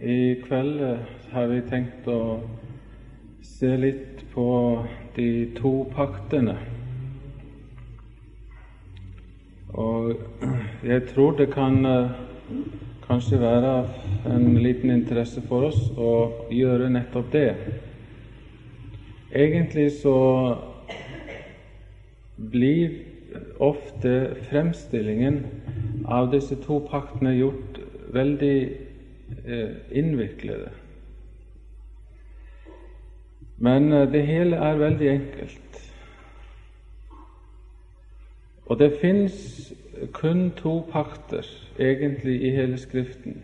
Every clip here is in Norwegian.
I kveld har vi tenkt å se litt på de to paktene. Og jeg tror det kan kanskje være en liten interesse for oss å gjøre nettopp det. Egentlig så blir ofte fremstillingen av disse to paktene gjort veldig innviklede. Men det hele er veldig enkelt. Og det finnes kun to pakter egentlig i hele Skriften.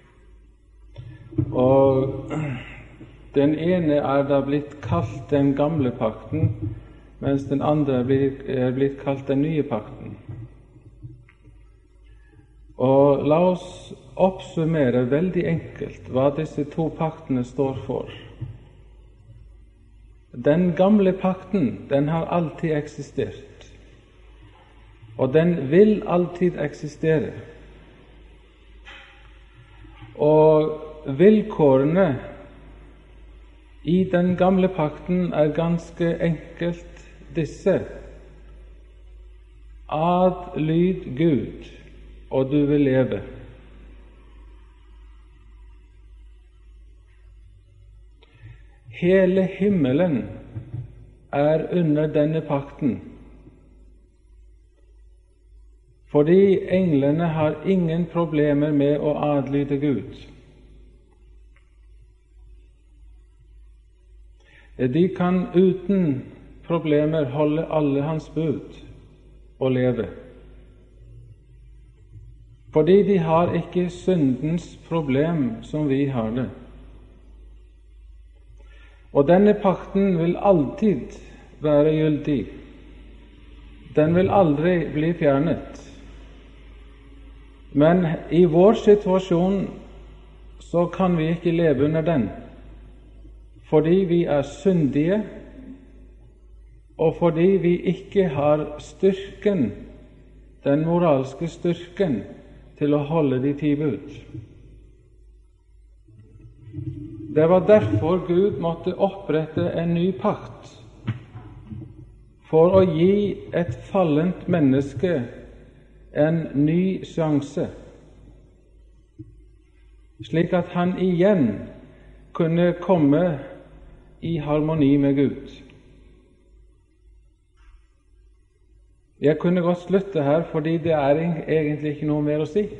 Og den ene er da blitt kalt den gamle pakten, mens den andre er blitt kalt den nye pakten. Og la oss oppsummere veldig enkelt hva disse to paktene står for. Den gamle pakten, den har alltid eksistert, og den vil alltid eksistere. Og vilkårene i den gamle pakten er ganske enkelt disse: adlyd Gud, og du vil leve. Hele himmelen er under denne pakten, fordi englene har ingen problemer med å adlyde Gud. De kan uten problemer holde alle hans bud og leve, fordi de har ikke syndens problem som vi har det. Og denne pakten vil alltid være gyldig. Den vil aldri bli fjernet. Men i vår situasjon så kan vi ikke leve under den, fordi vi er syndige, og fordi vi ikke har styrken, den moralske styrken, til å holde de 10 bud. Det var derfor Gud måtte opprette en ny pakt, for å gi et fallent menneske en ny sjanse, slik at han igjen kunne komme i harmoni med Gud. Jeg kunne godt slutte her, fordi det er egentlig ikke noe mer å si.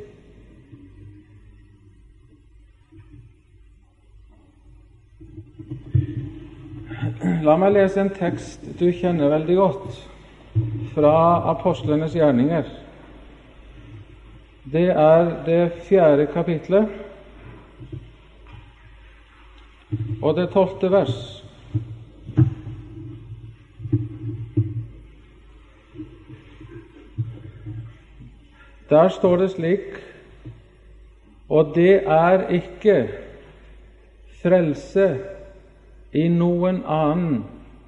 La meg lese en tekst du kjenner veldig godt, fra Apostlenes gjerninger. Det er det 4. kapitlet, og det 12. vers. Der står det slik: og det er ikke frelse i noen annen,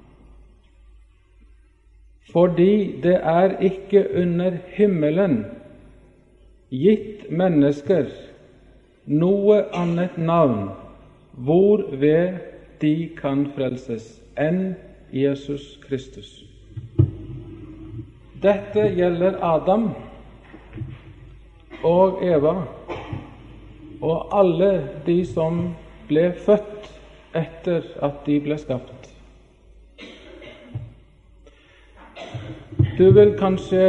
fordi det er ikke under himmelen gitt mennesker noe annet navn hvorved de kan frelses enn Jesus Kristus. Dette gjelder Adam og Eva og alle de som ble født etter at de ble skapt. Du vil kanskje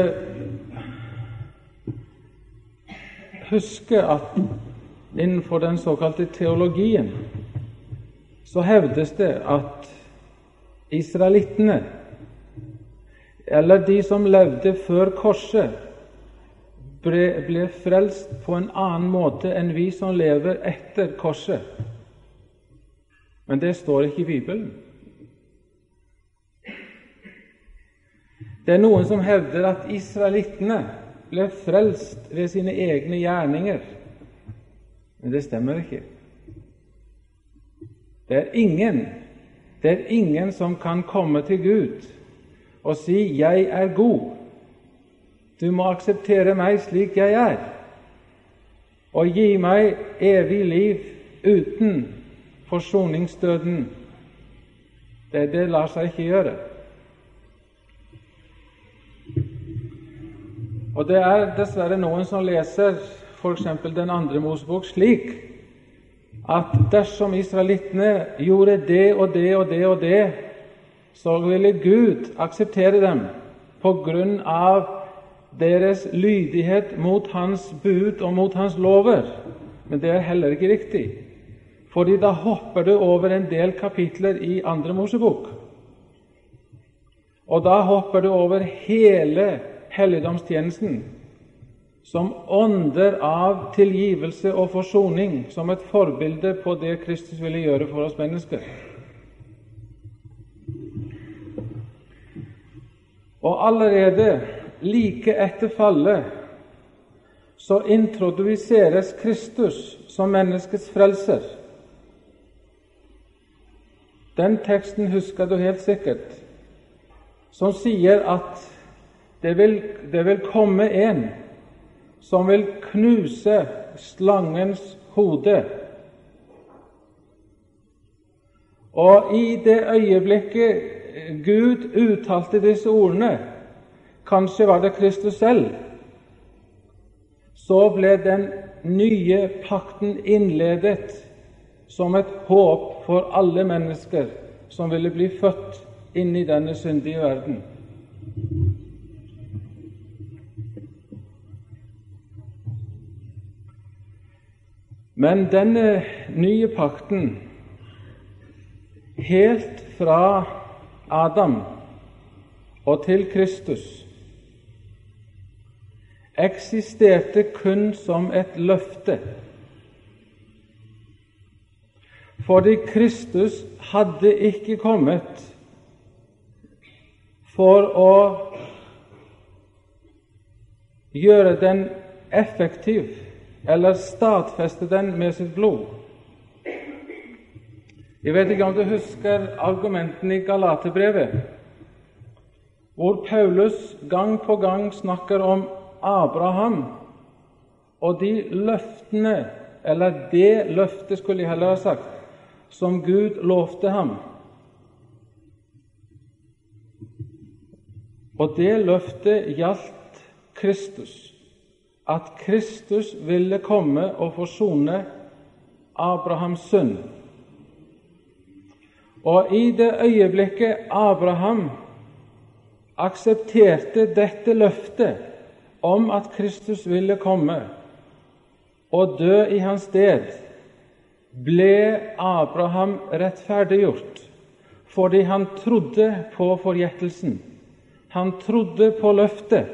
huske at innenfor den såkalte teologien så hevdes det at israelittene, eller de som levde før korset, ble frelst på en annen måte enn vi som lever etter korset. Men det står ikke i Bibelen. Det er noen som hevder at israelittene ble frelst ved sine egne gjerninger. Men det stemmer ikke. Det er ingen som kan komme til Gud og si: jeg er god, du må akseptere meg slik jeg er, og gi meg evig liv uten forsoningsdøden, det lar seg ikke gjøre. Og det er dessverre noen som leser for eksempel den andre Mosebok slik at dersom israelittene gjorde det og det og det og det, så ville Gud akseptere dem på grunn av deres lydighet mot hans bud og mot hans lover. Men det er heller ikke riktig, fordi da hopper du over en del kapitler i andre Mosebok. Og da hopper du over hele helligdomstjenesten, som ånder av tilgivelse og forsoning, som et forbilde på det Kristus ville gjøre for oss mennesker. Og allerede like etter fallet så introduseres Kristus som menneskets frelser. Den teksten husker du helt sikkert, som sier at det vil komme en som vil knuse slangens hode. Og i det øyeblikket Gud uttalte disse ordene, kanskje var det Kristus selv, så ble den nye pakten innledet som et håp for alle mennesker som ville bli født inn i denne syndige verden. Men denne nye pakten, helt fra Adam og til Kristus, eksisterte kun som et løfte. Fordi Kristus hadde ikke kommet for å gjøre den effektiv eller stadfeste den med sitt blod. Jeg vet ikke om du husker argumentene i Galaterbrevet, hvor Paulus gang på gang snakker om Abraham og de løftene, eller det løftet skulle jeg heller ha sagt, som Gud lovte ham. Og det løftet gjaldt Kristus, at Kristus ville komme og forsone Abrahams synd. Og i det øyeblikket Abraham aksepterte dette løftet om at Kristus ville komme og dø i hans sted, ble Abraham rettferdiggjort, fordi han trodde på forgjettelsen. Han trodde på løftet.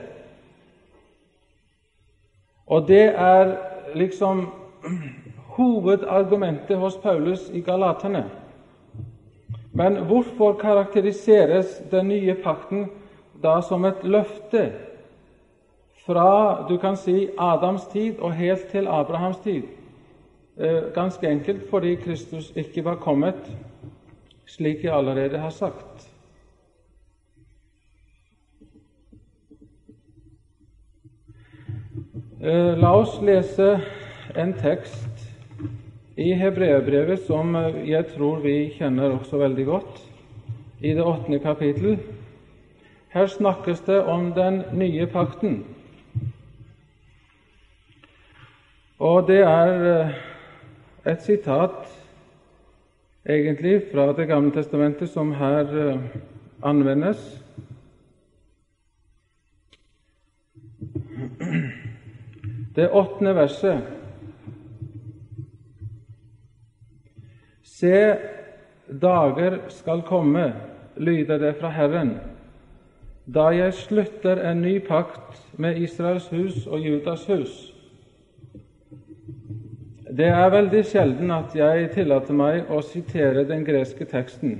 Og det er liksom hovedargumentet hos Paulus i Galaterne. Men hvorfor karakteriseres den nye pakten da som et løfte fra, du kan si, Adams tid og helt til Abrahams tid? Ganske enkelt fordi Kristus ikke var kommet, slik jeg allerede har sagt. La oss lese en tekst i Hebreerbrevet som jeg tror vi kjenner også veldig godt, i det 8. kapittel. Her snakkes det om den nye pakten. Og det er et sitat egentlig fra Det gamle testamentet som her anvendes. Det 8. verset. Se, dager skal komme, lyder det fra Herren, da jeg slutter en ny pakt med Israels hus og Judas hus. Det er veldig sjelden at jeg tillater meg å sitere den greske teksten,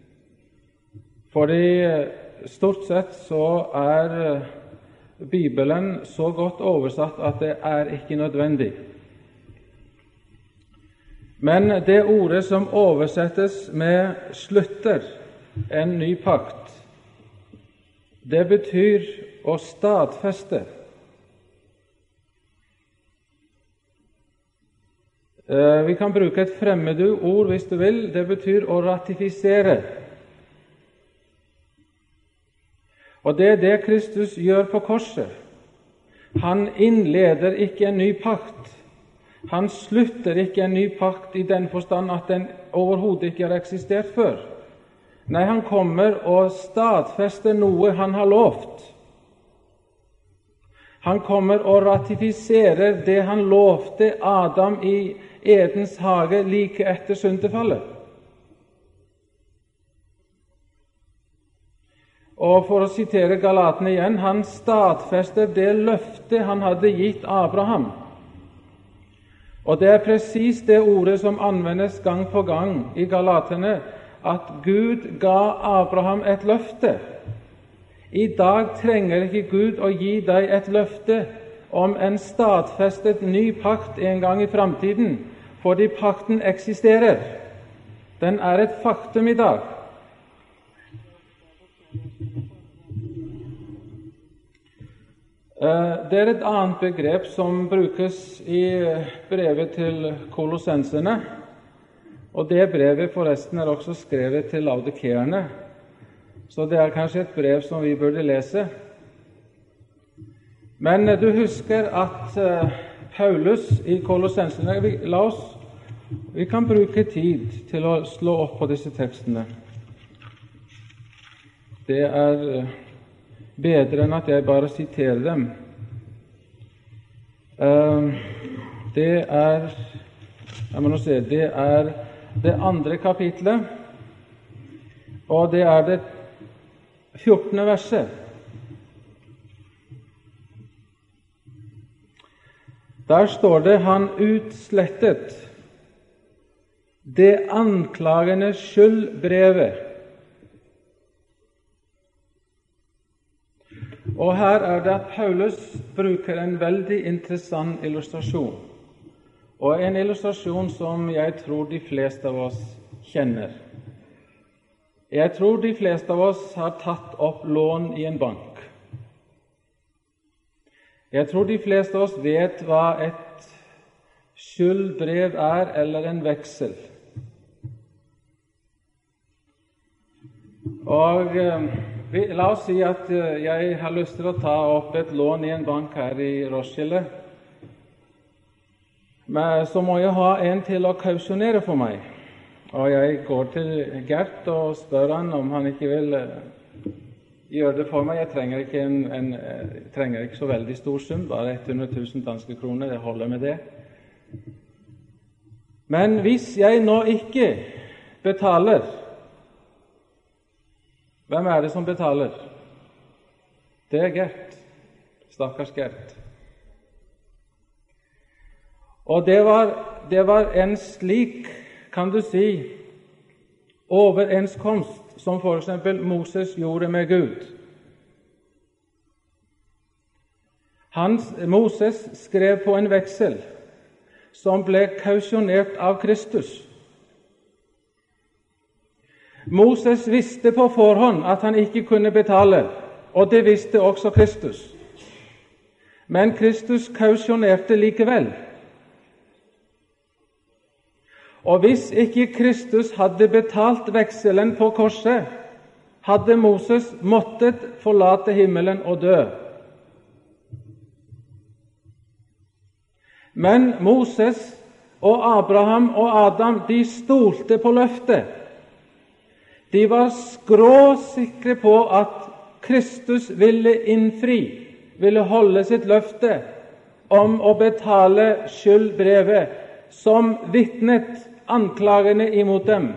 fordi stort sett så er Bibelen så godt oversatt at det er ikke nødvendig. Men det ordet som oversettes med 'slutter en ny pakt', det betyr å stadfeste. Vi kan bruke et fremmedord hvis du vil. Det betyr å ratifisere. Og det er det Kristus gjør på korset. Han innleder ikke en ny pakt. Han slutter ikke en ny pakt i den forstand at den overhodet ikke har eksistert før. Nei, han kommer og stadfester noe han har lovt. Han kommer og ratifiserer det han lovte Adam i Edens hage like etter syndefallet. Og for å sitere Galatene igjen, han stadfester det løfte han hadde gitt Abraham. Og det er presis det ordet som anvendes gang på gang i Galatene, at Gud ga Abraham et løfte. I dag trenger ikke Gud å gi deg et løfte om en stadfestet ny pakt en gang i framtiden, fordi pakten eksisterer. Den er et faktum i dag. Det er et annet begrep som brukes i brevet til kolossenserne, og det brevet forresten er også skrevet til laodikeerne, så det er kanskje et brev som vi burde lese. Men du husker at Paulus i kolossenserne, vi kan bruke tid til å slå opp på disse tekstene. Det er bedre enn at jeg bare siterer dem. Det er det andre kapitlet, og det er det 14. verset. Der står det: han utslettet det anklagende skyldbrevet. Og her er det at Paulus bruker en veldig interessant illustrasjon, og en illustrasjon som jeg tror de fleste av oss kjenner. Jeg tror de fleste av oss har tatt opp lån i en bank. Jeg tror de fleste av oss vet hva et skyldbrev er, eller en veksel. Og la oss si at jeg har lyst til å ta opp et lån i en bank her i Roskilde. Men så må jeg ha en til å kausjonere for meg. Og jeg går til Gert og spør han om han ikke vil gjøre det for meg. Jeg trenger ikke så veldig stor sum, bare 100 000 danske kroner, det holder med det. Men hvis jeg nå ikke betaler, hvem er det som betaler? Det er Gert. Stakkars Gert. Og det var en slik, kan du si, overenskomst som for eksempel Moses gjorde med Gud. Moses skrev på en veksel som ble kausjonert av Kristus. Moses visste på forhånd at han ikke kunne betale, og det visste også Kristus. Men Kristus kausjonerte likevel. Og hvis ikke Kristus hadde betalt vekselen på korset, hadde Moses måttet forlate himmelen og dø. Men Moses og Abraham og Adam, de stolte på løftet. De var skråsikre på at Kristus ville innfri, ville holde sitt løfte om å betale skyldbrevet som vitnet anklagene imot dem.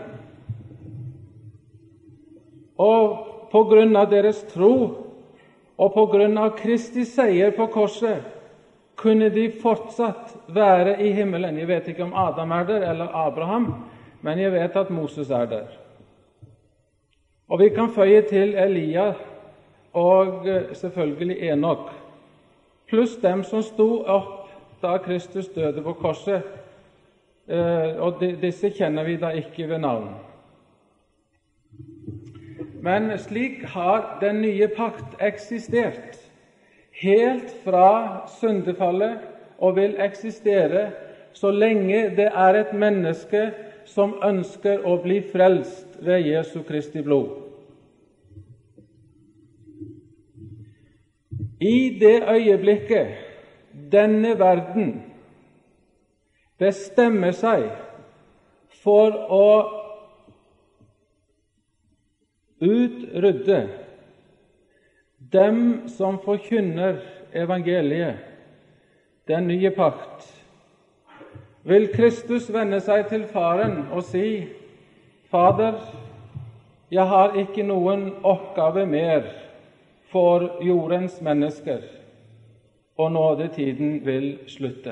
Og på grunn av deres tro og på grunn av Kristi seier på korset kunne de fortsatt være i himmelen. Jeg vet ikke om Adam er der eller Abraham, men jeg vet at Moses er der. Og vi kan føye til Elia og selvfølgelig Enok, pluss dem som sto opp da Kristus døde på korset, og disse kjenner vi da ikke ved navn. Men slik har den nye pakt eksistert helt fra syndefallet og vil eksistere så lenge det er et menneske som ønsker å bli frelst ved Jesu Kristi blod. I det øyeblikket denne verden bestemmer seg for å utrydde dem som forkynner evangeliet, den nye pakt, vil Kristus vende seg til Faren og si: Fader, jeg har ikke noen oppgave mer for jordens mennesker, og nådetiden vil slutte.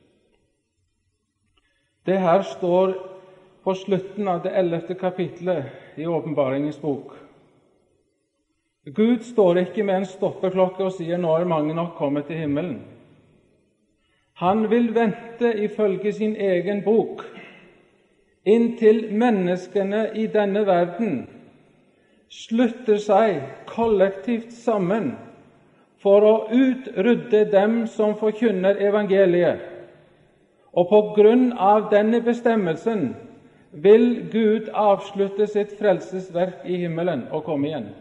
Det her står på slutten av det 11. kapitlet i Åpenbaringens bok. Gud står ikke med en stoppeklokke og sier: nå er mange nok kommet til himmelen. Han vil vente ifølge sin egen bok inntil menneskene i denne verden slutter seg kollektivt sammen for å utrydde dem som forkynner evangeliet. Og på grunn av denne bestemmelsen vil Gud avslutte sitt frelsesverk i himmelen og komme igjen.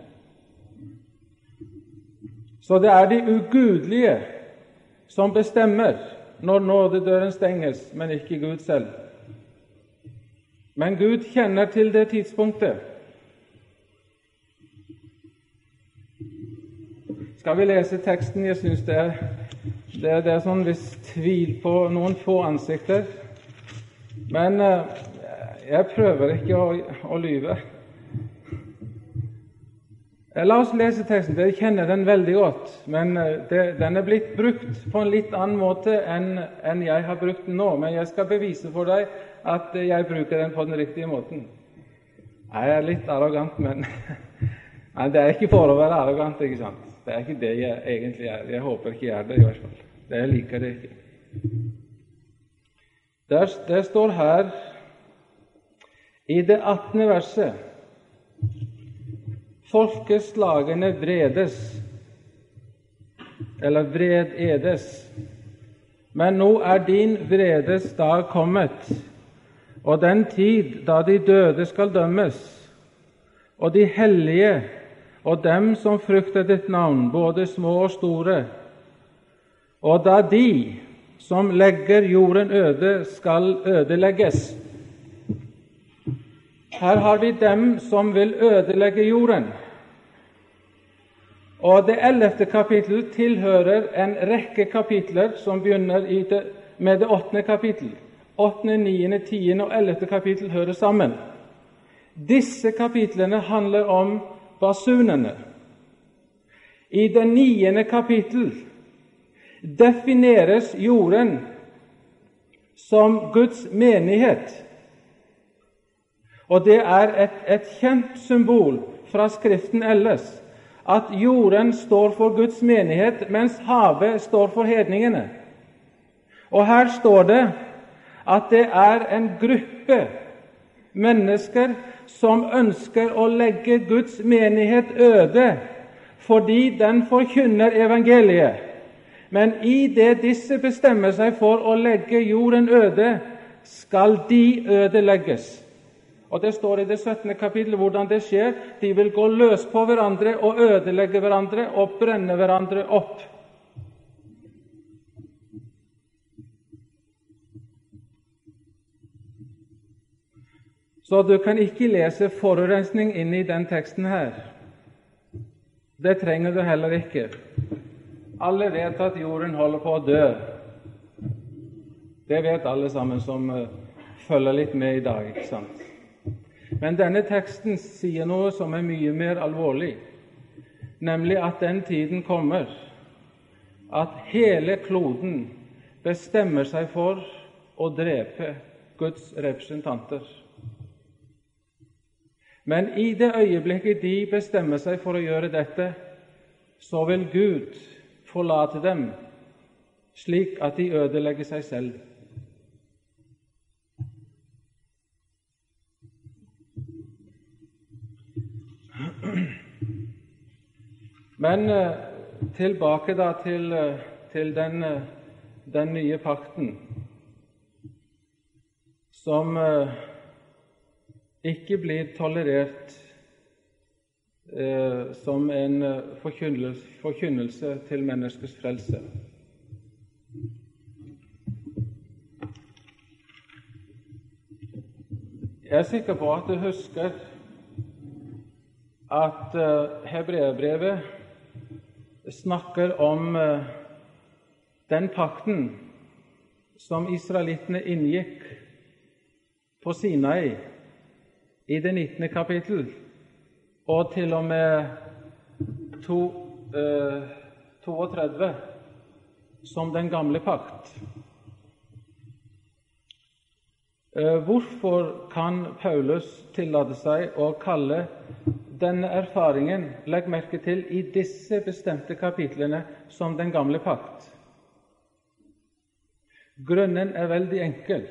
Så det er de ugudelige som bestemmer når nådedøren stenges, men ikke Gud selv. Men Gud kjenner til det tidspunktet. Skal vi lese teksten? Jeg synes det er sånn viss tvil på noen få ansikter. Men jeg prøver ikke å lyve. La oss lese teksten. Dere kjenner den veldig godt, men den er blitt brukt på en litt annen måte enn jeg har brukt den nå. Men jeg skal bevise for deg at jeg bruker den på den riktige måten. Jeg er litt arrogant, men det er ikke for å være arrogant, ikke sant? Det er ikke det jeg egentlig er. Jeg håper ikke jeg er det, i hvert fall. Jeg liker det ikke. Det står her i det 18. verset: Folkeslagene vredes, eller vrededes, men nå er din vredes dag kommet, og den tid da de døde skal dømmes, og de hellige og dem som frykter ditt navn, både små og store, og da de som legger jorden øde skal ødelegges. Her har vi dem som vil ødelegge jorden. Og det 11. kapittel tilhører en rekke kapitler som begynner med det 8. kapittel. 8., 9., 10. og 11. kapittel hører sammen. Disse kapitlene handler om basunene. I det 9. kapittel defineres jorden som Guds menighet. Og det er et kjent symbol fra Skriften ellers, at jorden står for Guds menighet, mens havet står for hedningene. Og her står det at det er en gruppe mennesker som ønsker å legge Guds menighet øde, fordi den forkynner evangeliet. Men i det disse bestemmer seg for å legge jorden øde, skal de ødelegges. Og det står i det 17. kapittel hvordan det skjer. De vil gå løs på hverandre og ødelegge hverandre og brenne hverandre opp. Så du kan ikke lese forurensning inn i den teksten her. Det trenger du heller ikke. Alle vet at jorden holder på å dø. Det vet alle sammen som følger litt med i dag, ikke sant? Men denne teksten sier noe som er mye mer alvorlig, nemlig at den tiden kommer at hele kloden bestemmer seg for å drepe Guds representanter. Men i det øyeblikket de bestemmer seg for å gjøre dette, så vil Gud forlate dem slik at de ødelegger seg selv. Men tilbake da til den nye pakten. som ikke blir tolerert som en forkynnelse til menneskets frelse. Jeg er sikker på at du husker at Hebreerbrevet snakker om den pakten som israelittene inngikk på Sinai i det 19. kapittel, og til og med 32 som den gamle pakt. Hvorfor kan Paulus tillate seg å kalle denne erfaringen, legg merke til, i disse bestemte kapitlene som den gamle pakt? Grunnen er veldig enkel.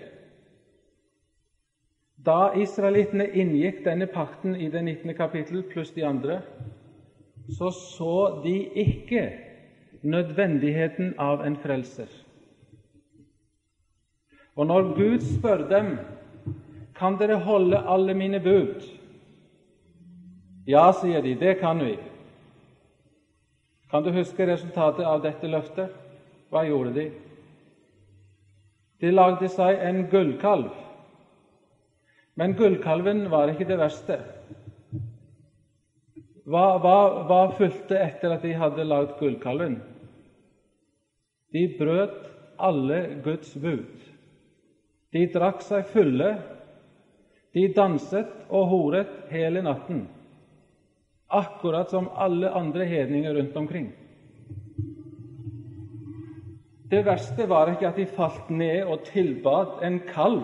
Da israelittene inngikk denne pakten i det 19. kapittel pluss de andre, så de ikke nødvendigheten av en frelser. Og når Gud spør dem, kan dere holde alle mine bud? Ja, sier de, det kan vi. Kan du huske resultatet av dette løftet? Hva gjorde de? De lagde seg en gullkalv. Men gullkalven var ikke det verste. Hva fulgte etter at de hadde lagd gullkalven? De brøt alle Guds bud. De drakk seg fulle, de danset og horet hele natten, akkurat som alle andre hedninger rundt omkring. Det verste var ikke at de falt ned og tilbad en kalv.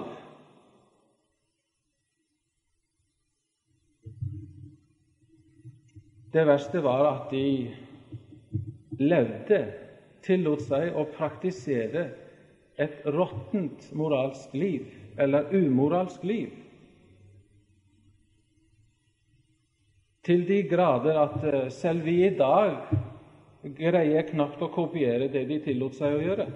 Det verste var at de tillot seg å praktisere et råttent moralsk liv, eller umoralsk liv, til de grader at selv vi i dag greier knapt å kopiere det de tillot seg å gjøre.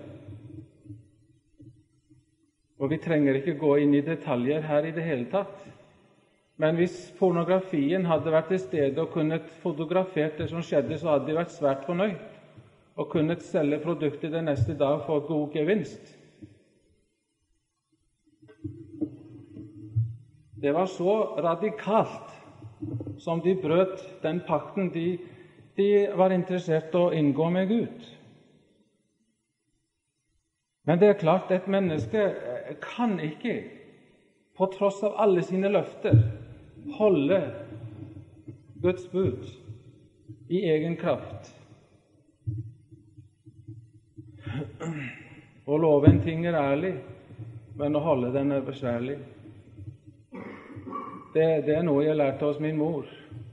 Og vi trenger ikke gå inn i detaljer her i det hele tatt. Men hvis pornografien hadde vært til stede og kunnet fotografert det som skjedde, så hadde de vært svært fornøyd og kunnet selge produktet den neste dag for god gevinst. Det var så radikalt som de brøt den pakten de var interessert i å inngå med Gud. Men det er klart, et menneske kan ikke, på tross av alle sine løfter, holde Guds bud i egen kraft. Å love en ting er ærlig, men å holde den er besværlig. Det er noe jeg lærte hos min mor.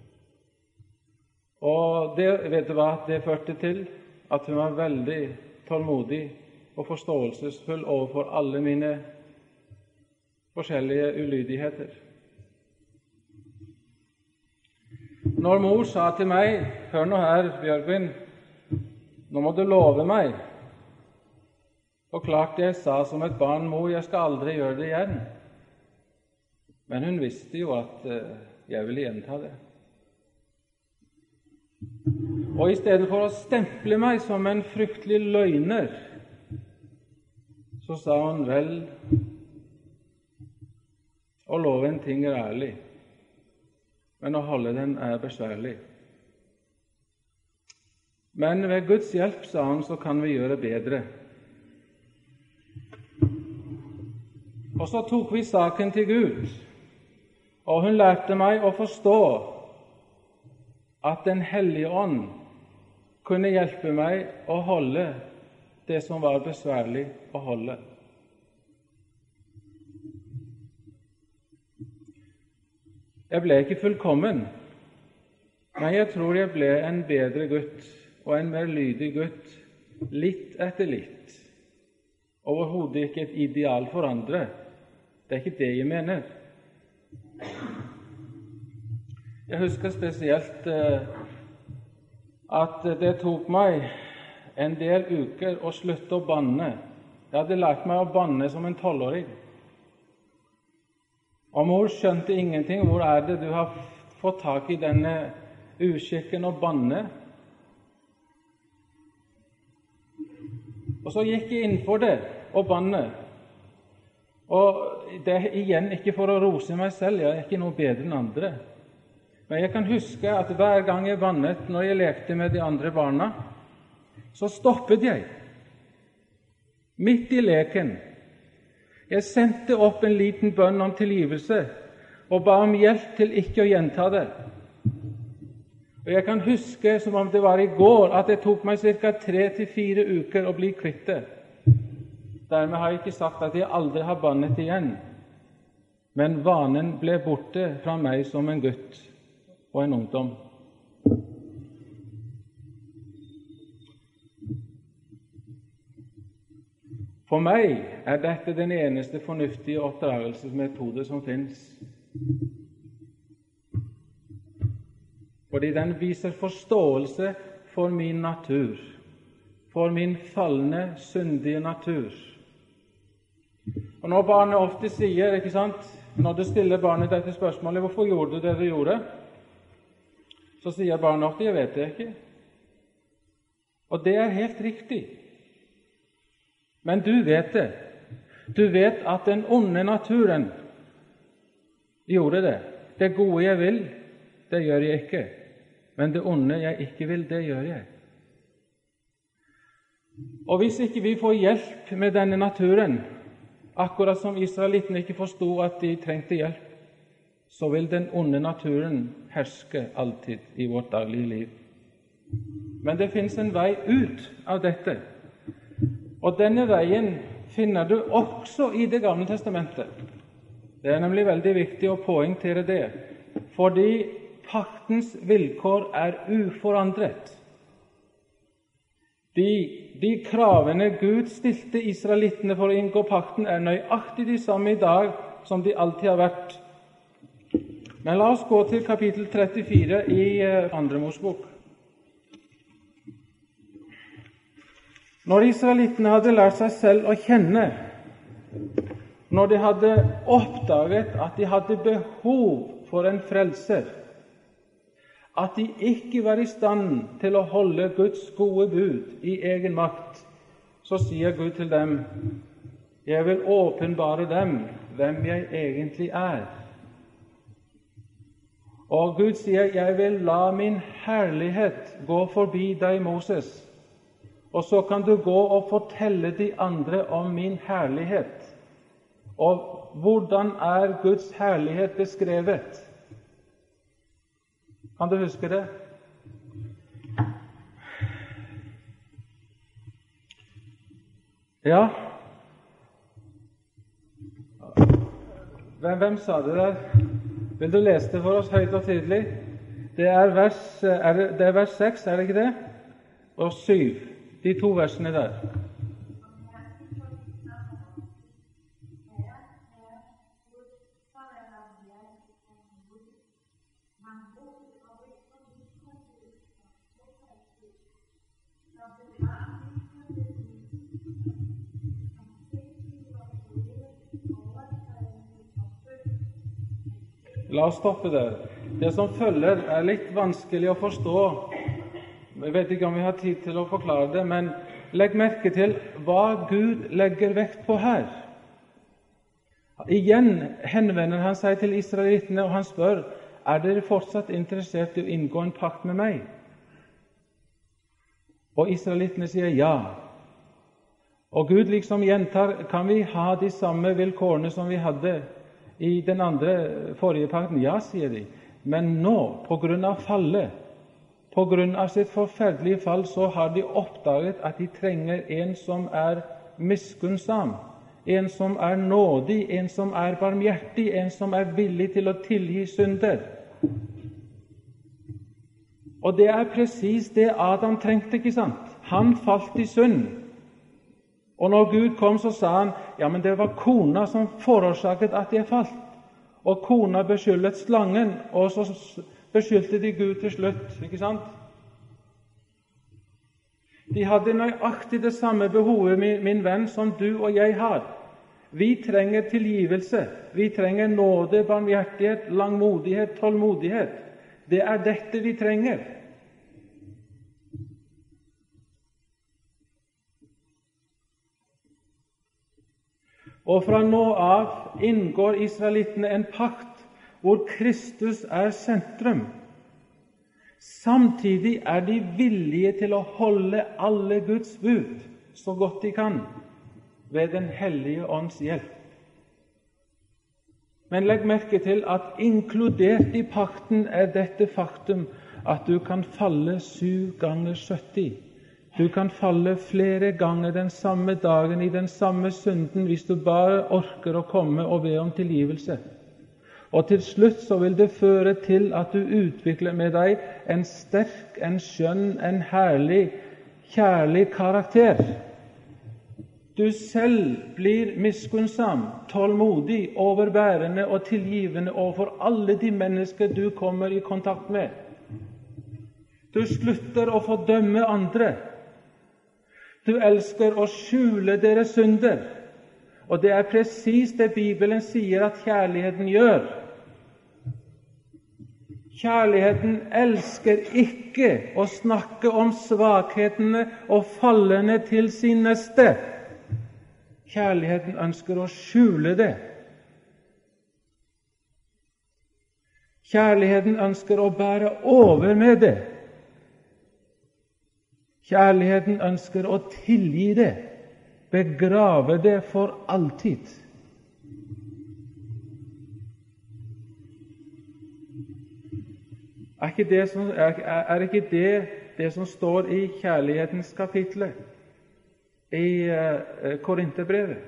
Og vet du hva det førte til? At hun var veldig tålmodig og forståelsesfull overfor alle mine forskjellige ulydigheter. Når mor sa til meg, hør nå her, Bjørgvin, nå må du love meg. Og klart jeg sa som et barn, mor, jeg skal aldri gjøre det igjen. Men hun visste jo at jeg ville gjenta det. Og i stedet for å stemple meg som en fryktelig løgner, så sa hun, vel, å love en ting er ærlig, men å holde den er besværlig. Men ved Guds hjelp, sa hun, så kan vi gjøre bedre. Og så tok vi saken til Gud, og hun lærte meg å forstå at Den hellige ånd kunne hjelpe meg å holde det som var besværlig å holde. Jeg ble ikke fullkommen, men jeg tror jeg ble en bedre gutt og en mer lydig gutt, litt etter litt. Overhodet ikke et ideal for andre. Det er ikke det jeg mener. Jeg husker spesielt at det tok meg en del uker å slutte å banne. Jeg hadde lært meg å banne som en 12-åring. Og mor skjønte ingenting. Hvor er det du har fått tak i denne uskikken og banne? Og så gikk jeg innenfor det og banne. Og det er igjen ikke for å rose meg selv, jeg er ikke noe bedre enn andre. Men jeg kan huske at hver gang jeg bannet når jeg lekte med de andre barna, så stoppet jeg. Midt i leken. Jeg sendte opp en liten bønn om tilgivelse og ba om hjelp til ikke å gjenta det. Og jeg kan huske som om det var i går at det tok meg ca. 3 til 4 uker å bli kvitt det. Dermed har jeg ikke sagt at jeg aldri har bannet igjen, men vanen ble borte fra meg som en gutt og en ungdom. For meg er dette den eneste fornuftige oppdragelsesmetode som finnes. Fordi den viser forståelse for min natur, for min falne, syndige natur. Og når barnet ofte sier, ikke sant, når du stiller barnet dette spørsmålet, hvorfor gjorde du det du gjorde? Så sier barnet ofte, jeg vet det ikke. Og det er helt riktig. Men du vet det. Du vet at den onde naturen gjorde det. Det gode jeg vil, det gjør jeg ikke. Men det onde jeg ikke vil, det gjør jeg. Og hvis ikke vi får hjelp med denne naturen, akkurat som israelittene ikke forstod at de trengte hjelp, så vil den onde naturen herske alltid i vårt daglige liv. Men det finnes en vei ut av dette. Og denne veien finner du også i Det gamle testamentet. Det er nemlig veldig viktig å poengtere det, fordi paktens vilkår er uforandret. De kravene Gud stilte israelittene for å inngå pakten, er nøyaktig de samme i dag som de alltid har vært. Men la oss gå til kapittel 34 i 2. Mosebok. Når israelittene hadde lært seg selv å kjenne, når de hadde oppdaget at de hadde behov for en frelser, at de ikke var i stand til å holde Guds gode bud i egen makt, så sier Gud til dem, jeg vil åpenbare dem hvem jeg egentlig er. Og Gud sier, jeg vil la min herlighet gå forbi deg, Moses, og så kan du gå og fortelle de andre om min herlighet. Og hvordan er Guds herlighet beskrevet? Kan du huske det? Ja. Hvem sa det der? Vil du lese det for oss høyt og tydelig? Det er vers 6, er det ikke det? Og 7. De 2 versene der. La oss stoppe der. Det som følger er litt vanskelig å forstå. Jeg vet ikke om vi har tid til å forklare det, men legg merke til hva Gud legger vekt på her. Igjen henvender han seg til israelittene, og han spør, er dere fortsatt interessert i å inngå en pakt med meg? Og israelittene sier ja. Og Gud liksom gjentar, kan vi ha de samme vilkårene som vi hadde i den forrige pakten? Ja, sier de. Men nå, på grunn av fallet, på grunn av sitt forferdelige fall, så har de oppdaget at de trenger en som er miskunnsam, en som er nådig, en som er barmhjertig, en som er villig til å tilgi synder. Og det er presis det Adam trengte, ikke sant? Han falt i synd. Og når Gud kom, så sa han, ja, men det var kona som forårsaket at jeg falt. Og kona beskyldet slangen, og så beskyldte de Gud til slutt, ikke sant? De hadde nøyaktig det samme behovet, min venn, som du og jeg har. Vi trenger tilgivelse. Vi trenger nåde, barmhjertighet, langmodighet, tålmodighet. Det er dette vi trenger. Og fra nå av inngår israelittene en pakt hvor Kristus er sentrum. Samtidig er de villige til å holde alle Guds bud så godt de kan ved Den hellige ånds hjelp. Men legg merke til at inkludert i pakten er dette faktum at du kan falle 7 ganger 70. Du kan falle flere ganger den samme dagen i den samme synden hvis du bare orker å komme og be om tilgivelse. Og til slutt så vil det føre til at du utvikler med deg en sterk, en skjønn, en herlig, kjærlig karakter. Du selv blir miskunnsam, tålmodig, overbærende og tilgivende overfor alle de mennesker du kommer i kontakt med. Du slutter å fordømme andre. Du elsker å skjule deres synder. Og det er presis det Bibelen sier at kjærligheten gjør. Kjærligheten elsker ikke å snakke om svakhetene og fallene til sin neste. Kjærligheten ønsker å skjule det. Kjærligheten ønsker å bære over med det. Kjærligheten ønsker å tilgi det, begrave det for alltid. Er ikke det som står i kjærlighetens kapitlet i Korinterbrevet?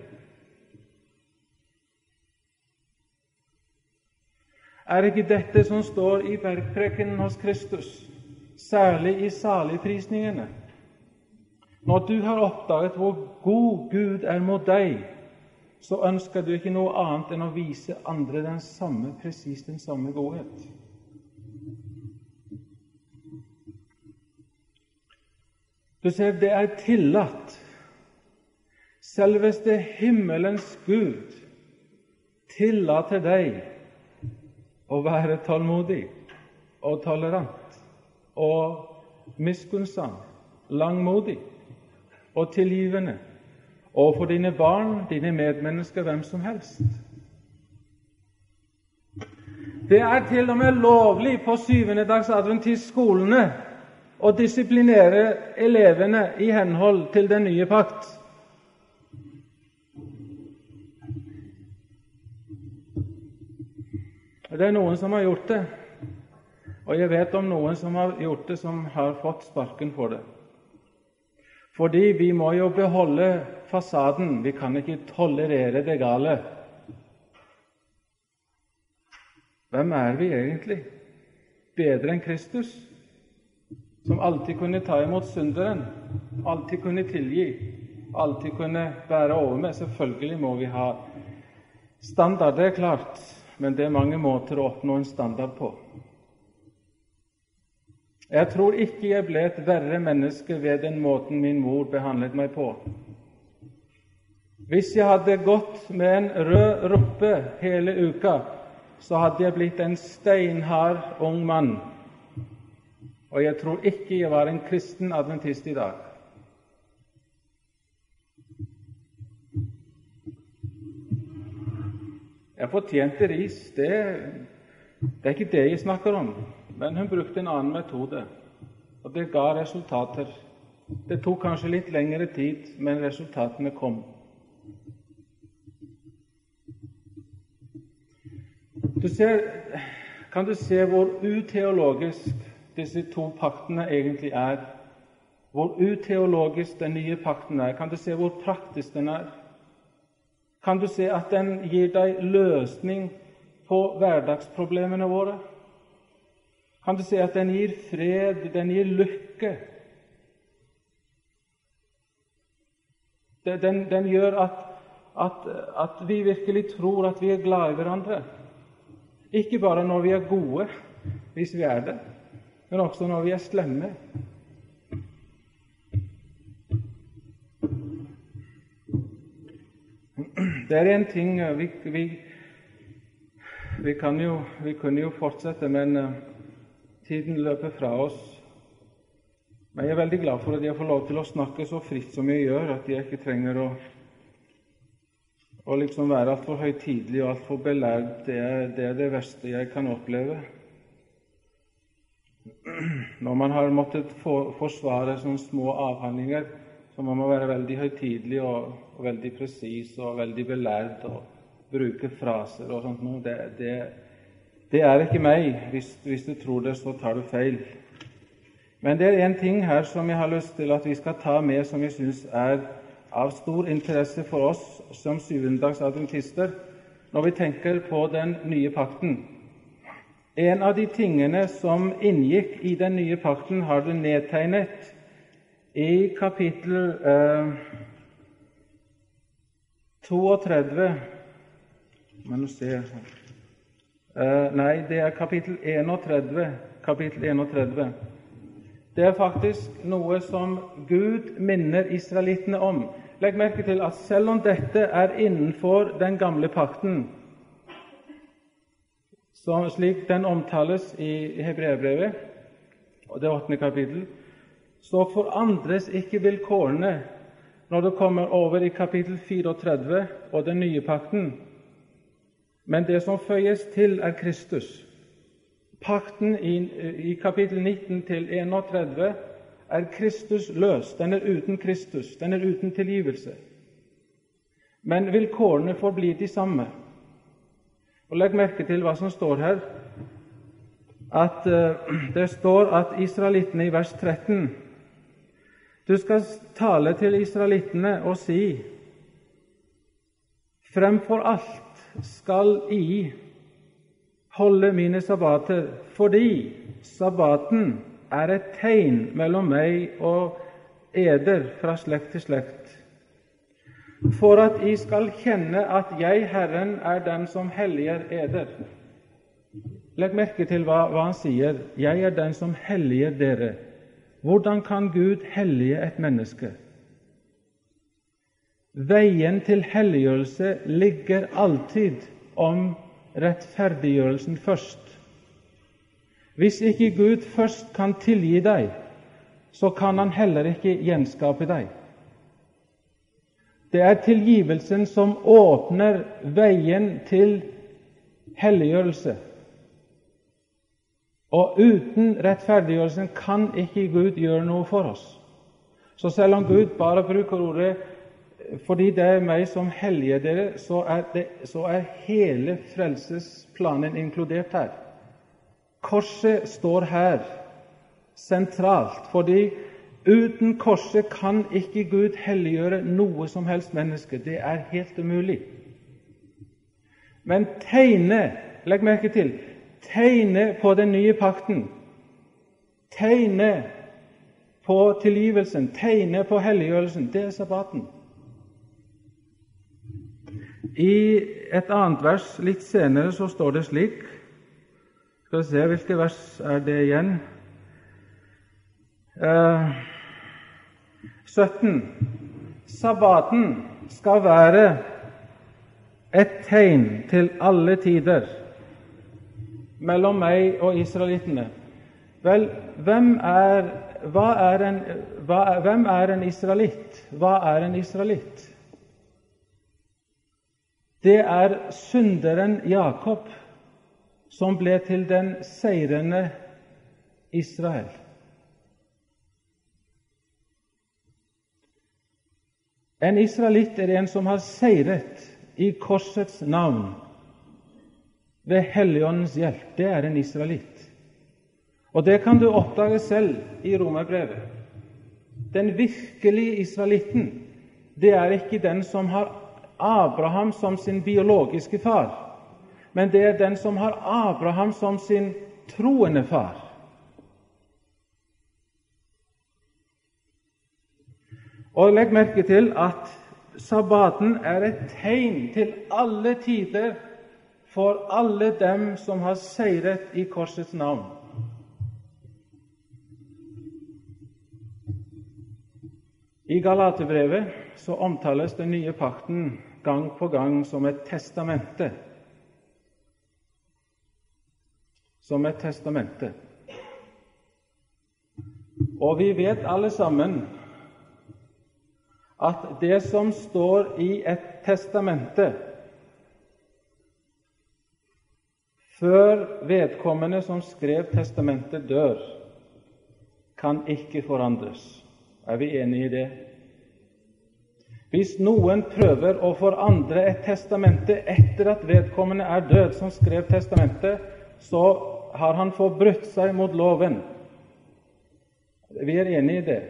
Er ikke dette som står i bergprekenen hos Kristus, særlig i saligprisningene? Når du har oppdaget hvor god Gud er mot deg, så ønsker du ikke noe annet enn å vise andre presis den samme godhet. Du ser, det er tillatt. Selveste himmelens Gud tillater deg å være tålmodig og tolerant og miskunnsam, langmodig og tilgivende overfor dine barn, dine medmennesker, hvem som helst. Det er til og med lovlig på 7. dags adventistskolene å disiplinere elevene i henhold til den nye pakt. Det er noen som har gjort det, og jeg vet om noen som har gjort det som har fått sparken for det. Fordi vi må jo beholde fasaden, vi kan ikke tolerere det gale. Hvem er vi egentlig? Bedre enn Kristus, som alltid kunne ta imot synderen, alltid kunne tilgi, alltid kunne bære over med. Selvfølgelig må vi ha standard, det er klart, men det er mange måter å oppnå en standard på. Jeg tror ikke jeg ble et verre menneske ved den måten min mor behandlet meg på. Hvis jeg hadde gått med en rød ruppe hele uka, så hadde jeg blitt en steinhard ung mann. Og jeg tror ikke jeg var en kristen adventist i dag. Jeg fortjente ris, det er ikke det jeg snakker om. Men hun brukte en annen metode, og det ga resultater. Det tok kanskje litt lengre tid, men resultatene kom. Kan du se hvor uteologisk disse to paktene egentlig er? Hvor uteologisk den nye pakten er? Kan du se hvor praktisk den er? Kan du se at den gir deg løsning på hverdagsproblemene våre? Kan du se at den gir fred, den gir lykke? Den gjør at vi virkelig tror at vi er glad i hverandre. Ikke bare når vi er gode, hvis vi er det, men også når vi er slemme. Det er en ting vi kunne jo fortsette, men tiden løper fra oss. Men jeg er veldig glad for at jeg får lov til å snakke så fritt som jeg gjør, at jeg ikke trenger å liksom være alt for høytidelig og alt for belærd. Det er det verste jeg kan oppleve. Når man har måttet forsvare sånne små avhandlinger, så må man være veldig høytidelig og veldig presis og veldig belærd og bruke fraser og sånt noe. Det er ikke meg. Hvis du tror det, så tar du feil. Men det er en ting her som jeg har lyst til at vi skal ta med, som jeg synes er av stor interesse for oss som syvendedagsadventister, når vi tenker på den nye pakten. En av de tingene som inngikk i den nye pakten, har du nedtegnet i kapittel 32. Men nå ser jeg nei, det er kapittel 31. Kapittel 31. Det er faktisk noe som Gud minner israelittene om. Legg merke til at selv om dette er innenfor den gamle pakten, slik den omtales i Hebreerbrevet, og det 8. kapittel, så forandres ikke vilkårene når det kommer over i kapittel 34 og den nye pakten. Men det som føyes til, er Kristus. Pakten i kapittel 19 til 31 er Kristus løs. Den er uten Kristus. Den er uten tilgivelse. Men vilkårene forblir de samme. Og legg merke til hva som står her. At det står at israelittene i vers 13, du skal tale til israelittene og si, fremfor alt skal I holde mine sabbater, fordi sabbaten er et tegn mellom meg og eder fra slekt til slekt, for at I skal kjenne at jeg, Herren, er den som helliger eder. Legg merke til hva han sier. Jeg er den som helliger dere. Hvordan kan Gud hellige et menneske? Veien til helliggjørelse ligger alltid om rettferdiggjørelsen først. Hvis ikke Gud først kan tilgi deg, så kan han heller ikke gjenskape deg. Det er tilgivelsen som åpner veien til helliggjørelse. Og uten rettferdiggjørelsen kan ikke Gud gjøre noe for oss. Så selv om Gud bare bruker ordet fordi det er meg som helliger dere, så er hele frelsesplanen inkludert her. Korset står her sentralt, fordi uten korset kan ikke Gud helliggjøre noe som helst menneske. Det er helt umulig. Men legg merke til, tegnet på den nye pakten, tegnet på tilgivelsen, tegnet på helliggjørelsen, det er sabbaten. I et annet vers litt senere så står det slik, skal vi se hvilke vers er det igjen, 17. Sabbaten skal være et tegn til alle tider mellom meg og israelittene. Vel, hvem er en israelitt? Hva er en israelitt? Det er synderen Jakob som ble til den seirende Israel. En israelitt er en som har seiret i korsets navn ved Helligåndens hjelp. Det er en israelitt. Og det kan du oppdage selv i Romerbrevet. Den virkelige israelitten, det er ikke den som har Abraham som sin biologiske far, men det er den som har Abraham som sin troende far. Og legg merke til at sabbaten er et tegn til alle tider for alle dem som har seiret i korsets navn. I Galaterbrevet så omtales den nye pakten gang på gang som et testamente. Som et testamente. Og vi vet alle sammen at det som står i et testamente, før vedkommende som skrev testamentet dør, kan ikke forandres. Er vi enige i det? Hvis noen prøver å forandre et testamente etter at vedkommende er død som skrev testamentet, så har han forbrutt seg mot loven. Vi er enige i det.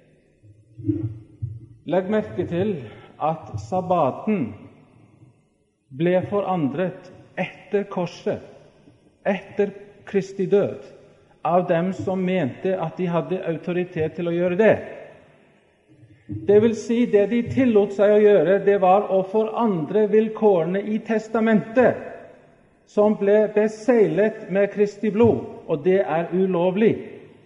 Legg merke til at sabbaten ble forandret etter korset, etter Kristi død, av dem som mente at de hadde autoritet til å gjøre det. Det vil si, det de tillot seg å gjøre, det var å forandre vilkårene i testamentet, som ble beseglet med Kristi blod, og det er ulovlig.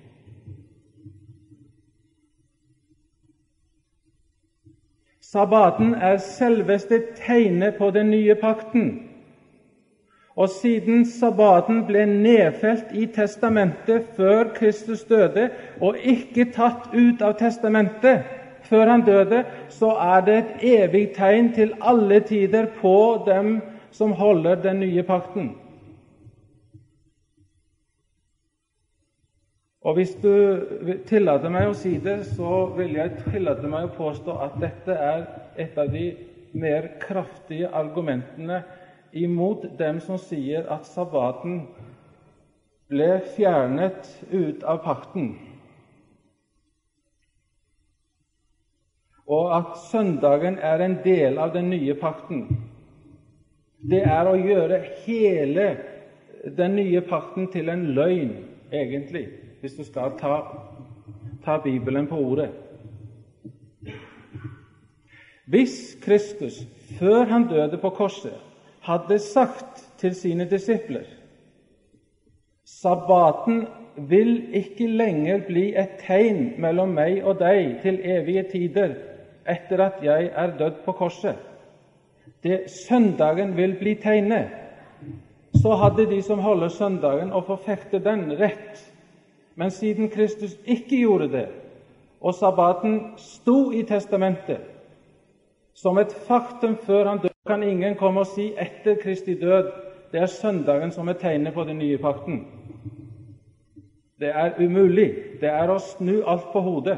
Sabbaten er selveste tegnet på den nye pakten. Og siden sabbaten ble nedfelt i testamentet før Kristus døde, og ikke tatt ut av testamentet før han døde, så er det et evig tegn til alle tider på dem som holder den nye pakten. Og hvis du tillater meg å si det, så vil jeg tillate meg å påstå at dette er et av de mer kraftige argumentene imot dem som sier at sabbaten ble fjernet ut av pakten, og at søndagen er en del av den nye pakten. Det er å gjøre hele den nye pakten til en løgn, egentlig, hvis du skal ta Bibelen på ordet. Hvis Kristus, før han døde på korset, hadde sagt til sine disipler: sabbaten vil ikke lenger bli et tegn mellom meg og deg til evige tider etter at jeg er dødd på korset. Søndagen vil bli tegnet. Så hadde de som holder søndagen og forfekter den, rett. Men siden Kristus ikke gjorde det, og sabbaten sto i testamentet som et faktum før han døde, kan ingen komme og si etter Kristi død, det er søndagen som er tegnet på den nye pakten. Det er umulig. Det er å snu alt på hodet.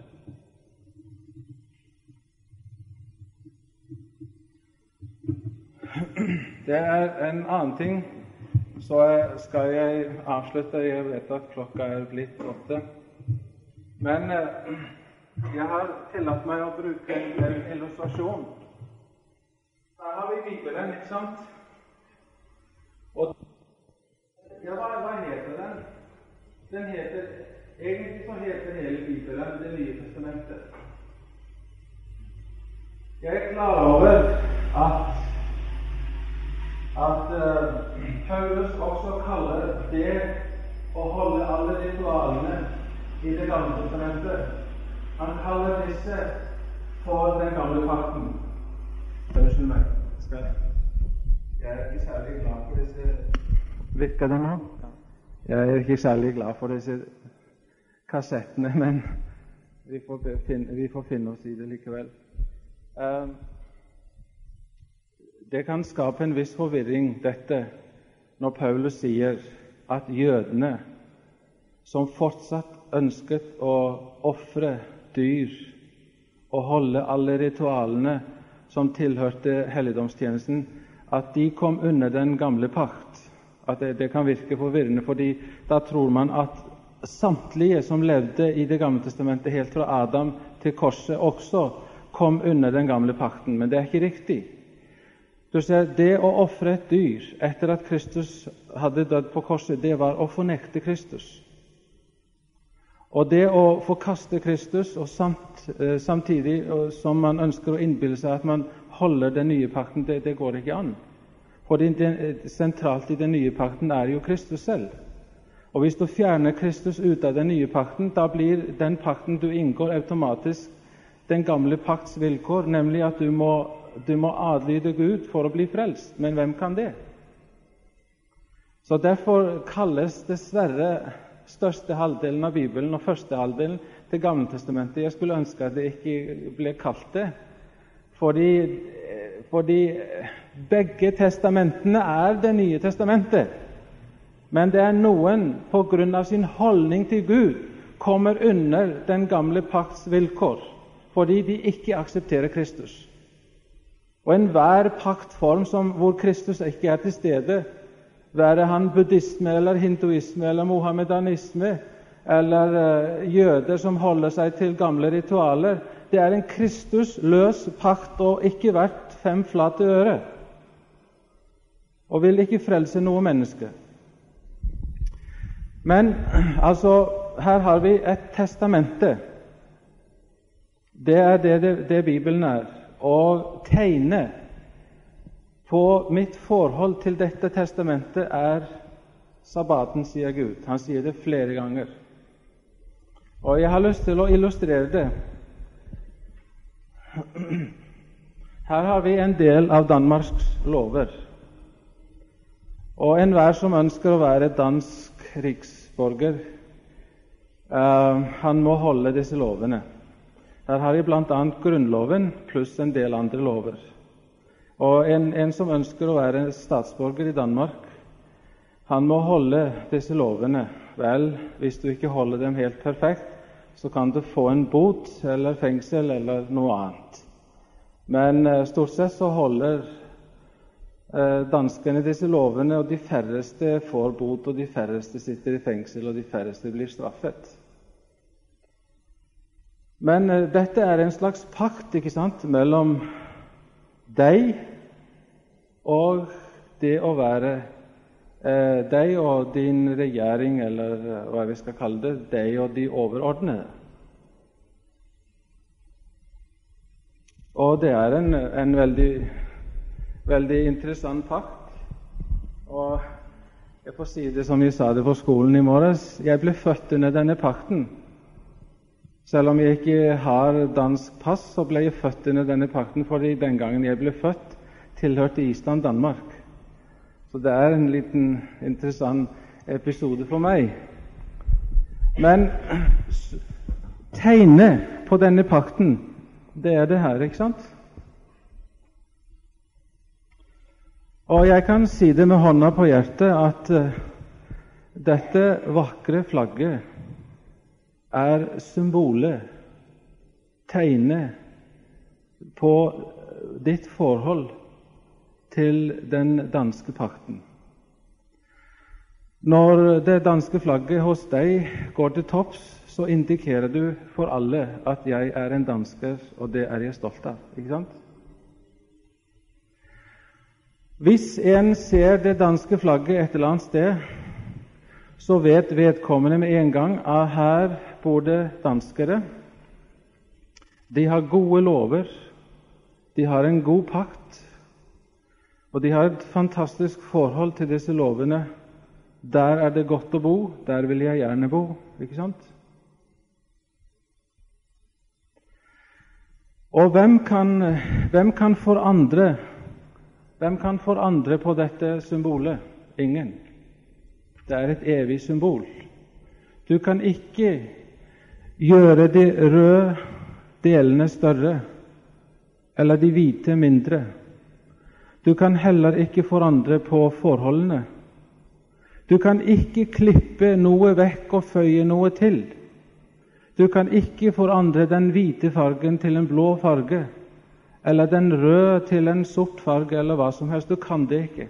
Det er en annen ting, så skal jeg avslutte. Jeg vet at klokka er blitt 8. Men jeg har tillatt meg å bruke en illustrasjon. Her har vi Bibelen, ikke sant? Og ja, hva heter den? Egentlig så heter hele Bibelen Det nye testamentet. Jeg er klar over at Paulus også kaller det å holde alle ritualene i Det gamle testamentet. Han kaller disse for den gamle pakten. Unnskyld meg. Jeg er ikke særlig glad for disse. Virker det nå? Jeg er ikke særlig glad for disse kassettene, men vi får finne oss i det likevel. Det kan skape en viss forvirring, dette, når Paulus sier at jødene, som fortsatt ønsket å ofre dyr og holde alle ritualene som tilhørte helligdomstjenesten, at de kom under den gamle pakt. At det kan virke forvirrende, fordi da tror man at samtlige som levde i Det gamle testamentet helt fra Adam til korset også kom under den gamle pakten, men det er ikke riktig. Du ser, det å ofre et dyr etter at Kristus hadde dødd på korset, det var å fornekte Kristus. Og det å forkaste Kristus, og samtidig som man ønsker å innbille seg at man holder den nye pakten, det går ikke an. For sentralt i den nye pakten er jo Kristus selv. Og hvis du fjerner Kristus ut av den nye pakten, da blir den pakten du inngår automatisk den gamle pakts vilkår, nemlig at du må du må adlyde Gud for å bli frelst. Men hvem kan det? Så derfor kalles dessverre største halvdelen av Bibelen og første halvdelen til Gamle Testamentet. Jeg skulle ønske at det ikke ble kalt det, fordi begge testamentene Det nye testamentet. Men det noen på grunn av sin holdning til Gud kommer under den gamle pakts vilkår, fordi de ikke aksepterer Kristus. Og enhver paktform hvor Kristus ikke til stede, være han buddhisme eller hinduisme eller mohammedanisme eller jøder som holder seg til gamle ritualer, det en Kristus-løs pakt og ikke verdt 5 flate øre, og vil ikke frelse noe menneske. Men altså, her har vi et testamente. Det det Bibelen og tegnet på mitt forhold til dette testamentet sabbaten, sier Gud. Han sier det flere ganger. Og jeg har lyst til å illustrere det. Her har vi en del av Danmarks lover. Og enhver som ønsker å være dansk riksborger, han må holde disse lovene. Her har vi blant annet Grunnloven pluss en del andre lover. Og en som ønsker å være statsborger i Danmark, han må holde disse lovene. Vel, hvis du ikke holder dem helt perfekt, så kan du få en bot eller fengsel eller noe annet. Men stort sett så holder danskene disse lovene, og de færreste får bot, og de færreste sitter i fengsel, og de færreste blir straffet. Men dette en slags pakt, ikke sant, mellom deg og det å være deg og din regjering, eller hva vi skal kalle det, deg og de overordnede. Og det en veldig interessant pakt. Og jeg får si det som jeg sa det på skolen i morges, jeg ble født under denne pakten. Selv om jeg ikke har dansk pass, så ble jeg født under denne pakten, fordi den gangen jeg ble født, tilhørte Island Danmark. Så det en liten interessant episode for meg. Men tegnet på denne pakten, det det her, ikke sant? Og jeg kan si det med hånda på hjertet at dette vakre flagget symbolet, tegnet på ditt forhold til den danske pakten. Når det danske flagget hos deg går til topps, så indikerer du for alle at jeg en dansker, og det jeg stolt av. Ikke sant? Hvis en ser det danske flagget et eller annet sted, så vet vedkommende med en gang at her bor det danskere. De har gode lover, de har en god pakt, og de har et fantastisk forhold til disse lovene. Der det godt å bo, der vil jeg gjerne bo, ikke sant? Og hvem kan forandre på dette symbolet? Ingen. Det et evig symbol. Du kan ikke gjøre de røde delene større, eller de hvite mindre. Du kan heller ikke forandre på forholdene. Du kan ikke klippe noe vekk og føye noe til. Du kan ikke forandre den hvite fargen til en blå farge, eller den røde til en sort farge, eller hva som helst. Du kan det ikke.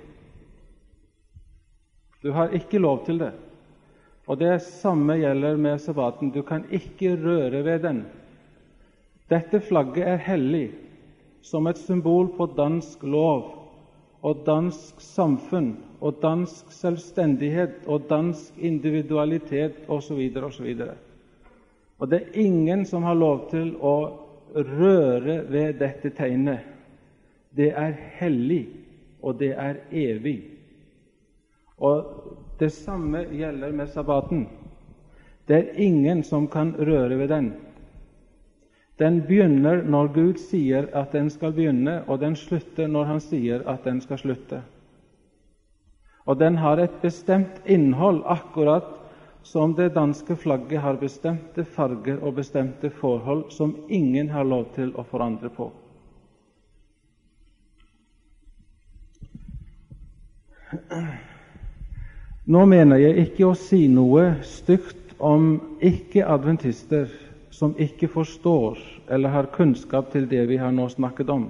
Du har ikke lov til det. Og det samme gjelder med sabbaten. Du kan ikke røre ved den. Dette flagget hellig, som et symbol på dansk lov og dansk samfunn og dansk selvstendighet og dansk individualitet osv. osv. Og det ingen som har lov til å røre ved dette tegnet. Det hellig, og det evig. Og det samme gjelder med sabbaten. Det ingen som kan røre ved den. Den begynner når Gud sier at den skal begynne, og den slutter når han sier at den skal slutte. Og den har et bestemt innhold, akkurat som det danske flagget har bestemte farger og bestemte forhold som ingen har lov til å forandre på. Nå mener jeg ikke å si noe stygt om ikke-adventister som ikke forstår eller har kunnskap til det vi har nå snakket om.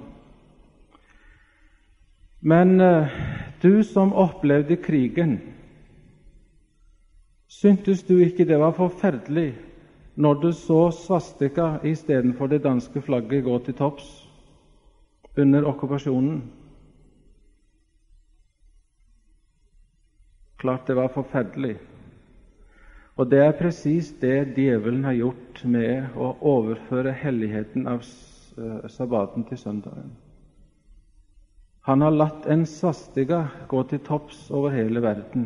Men du som opplevde krigen, syntes du ikke det var forferdelig når du så svastika i stedet for det danske flagget gå til topps under okkupasjonen? Klart det var forferdelig. Og det er presis det djevelen har gjort med å overføre helligheten av sabbaten til søndagen. Han har latt en svastika gå til topps over hele verden.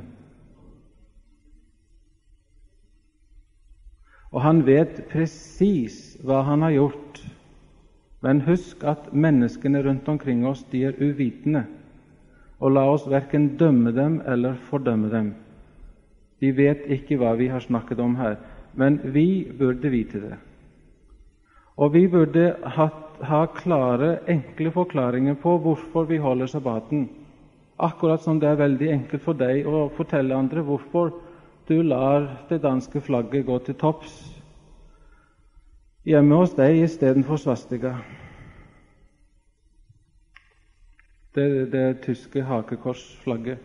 Og han vet presis hva han har gjort. Men husk at menneskene rundt omkring oss, de er uvitende. Og la oss hverken dømme dem eller fordømme dem. De vet ikke hva vi har snakket om her, men vi burde vite det. Og vi burde ha klare, enkle forklaringer på hvorfor vi holder sabbaten. Akkurat som det er veldig enkelt for deg å fortelle andre hvorfor du lar det danske flagget gå til topps hjemme hos deg i stedet for svastika. Det tyske hakekorsflagget.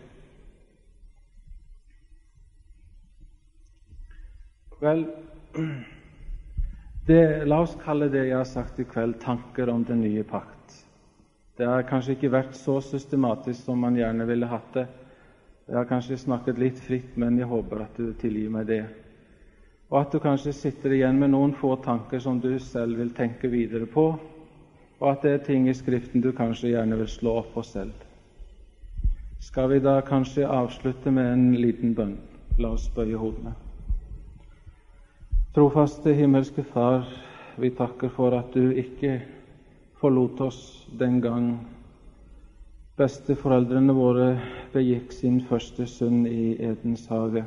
Vel, la oss kalle det jeg har sagt i kveld, tanker om den nye pakt. Det har kanskje ikke vært så systematisk som man gjerne ville hatt det. Jeg har kanskje snakket litt fritt, men jeg håper at du tilgir meg det. Og at du kanskje sitter igjen med noen få tanker som du selv vil tenke videre på, og at det er ting i Skriften du kanskje gjerne vil slå opp på selv. Skal vi da kanskje avslutte med en liten bønn? La oss bøye hodene. Trofaste himmelske Far, vi takker for at du ikke forlot oss den gang besteforeldrene våre begikk sin første synd i Edens hage.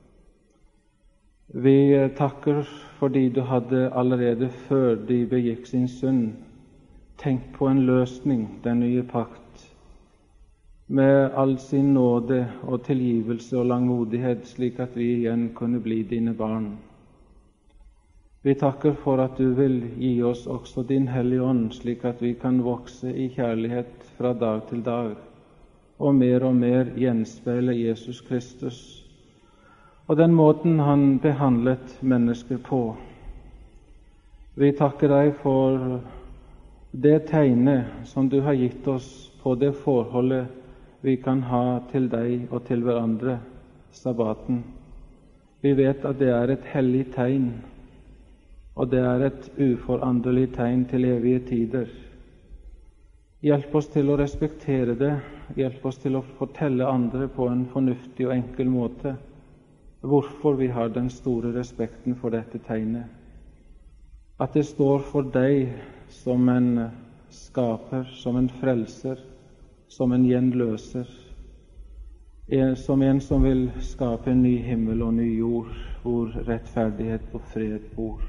Vi takker fordi du hadde allerede før de begikk sin synd tenkt på en løsning, den nye pakt, med all sin nåde og tilgivelse og langmodighet, slik at vi igjen kunne bli dine barn. Vi takker for at du vil gi oss også din Hellige Ånd, slik at vi kan vokse i kjærlighet fra dag til dag, og mer gjenspeile Jesus Kristus, og den måten han behandlet mennesker på. Vi takker deg for det tegnet som du har gitt oss på det forholdet vi kan ha til deg og til hverandre, sabbaten. Vi vet at det er et hellig tegn, og det er et uforanderlig tegn til evige tider. Hjelp oss til å respektere det, hjelp oss til å fortelle andre på en fornuftig og enkel måte hvorfor vi har den store respekten for dette tegnet. At det står for deg som en skaper, som en frelser, som en gjenløser, som en som vil skape en ny himmel og ny jord, hvor rettferdighet og fred bor.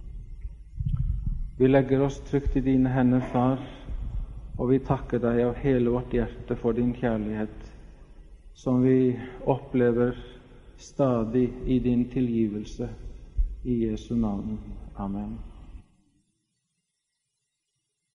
Vi legger oss trygt i dine hender, Far, og vi takker deg av hele vårt hjerte for din kjærlighet, som vi opplever stadig i din tilgivelse. I Jesu navn. Amen.